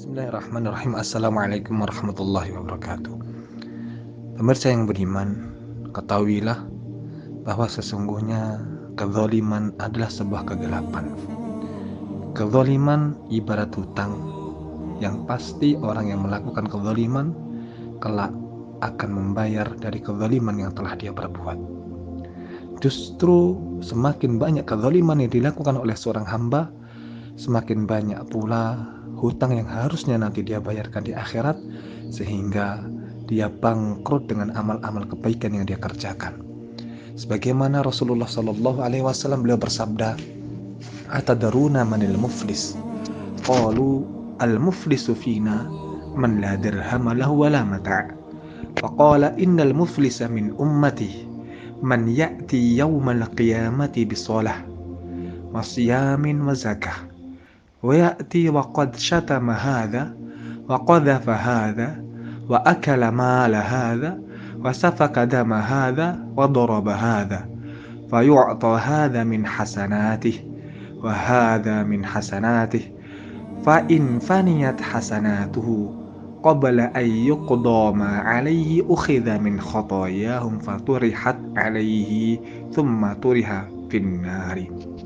Bismillahirrahmanirrahim. Assalamualaikum warahmatullahi wabarakatuh. Pemirsa yang beriman, ketahuilah bahwa sesungguhnya kezaliman adalah sebuah kegelapan. Kezaliman ibarat hutang yang pasti orang yang melakukan kezaliman kelak akan membayar dari kezaliman yang telah dia perbuat. Justru semakin banyak kezaliman yang dilakukan oleh seorang hamba, semakin banyak pula hutang yang harusnya nanti dia bayarkan di akhirat, sehingga dia bangkrut dengan amal-amal kebaikan yang dia kerjakan. Sebagaimana Rasulullah Shallallahu Alaihi Wasallam beliau bersabda, "Atadaruna manil muflis? Qalu al-muflisu fina man la dirham lahu wala mata'. Faqala innal muflisa min ummati man ya'ti yawmal qiyamati bisalah wa siyamin wa zakah. ويأتي وقد شتم هذا وقذف هذا وأكل مال هذا وسفك دم هذا وضرب هذا فيعطى هذا من حسناته وهذا من حسناته فإن فنيت حسناته قبل أن يقضى ما عليه أخذ من خطاياهم فطرحت عليه ثم طرح في النار."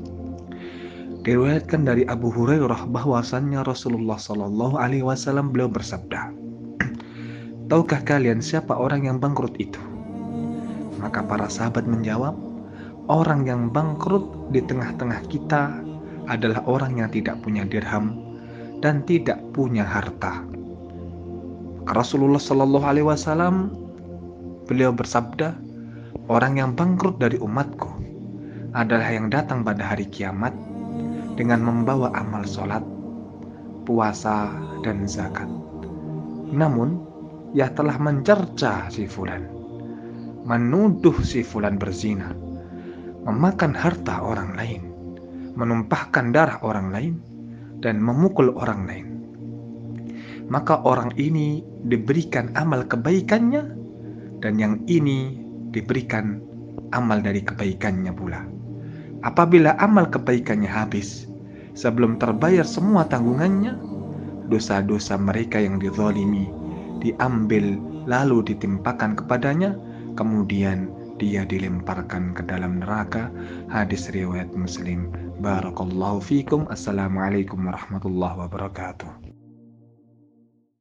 Diriwayatkan dari Abu Hurairah bahwasannya Rasulullah Shallallahu Alaihi Wasallam beliau bersabda, "Tahukah kalian siapa orang yang bangkrut itu?" Maka para sahabat menjawab, "Orang yang bangkrut di tengah-tengah kita adalah orang yang tidak punya dirham dan tidak punya harta." Maka Rasulullah Shallallahu Alaihi Wasallam beliau bersabda, "Orang yang bangkrut dari umatku adalah yang datang pada hari kiamat dengan membawa amal sholat, puasa, dan zakat. Namun, ia telah mencerca si fulan, menuduh si fulan berzina, memakan harta orang lain, menumpahkan darah orang lain, dan memukul orang lain. Maka orang ini diberikan amal kebaikannya, dan yang ini diberikan amal dari kebaikannya pula. Apabila amal kebaikannya habis, sebelum terbayar semua tanggungannya, dosa-dosa mereka yang dizalimi diambil lalu ditimpakan kepadanya, kemudian dia dilemparkan ke dalam neraka." Hadis riwayat Muslim. Barakallahu fikum. Assalamualaikum warahmatullahi wabarakatuh.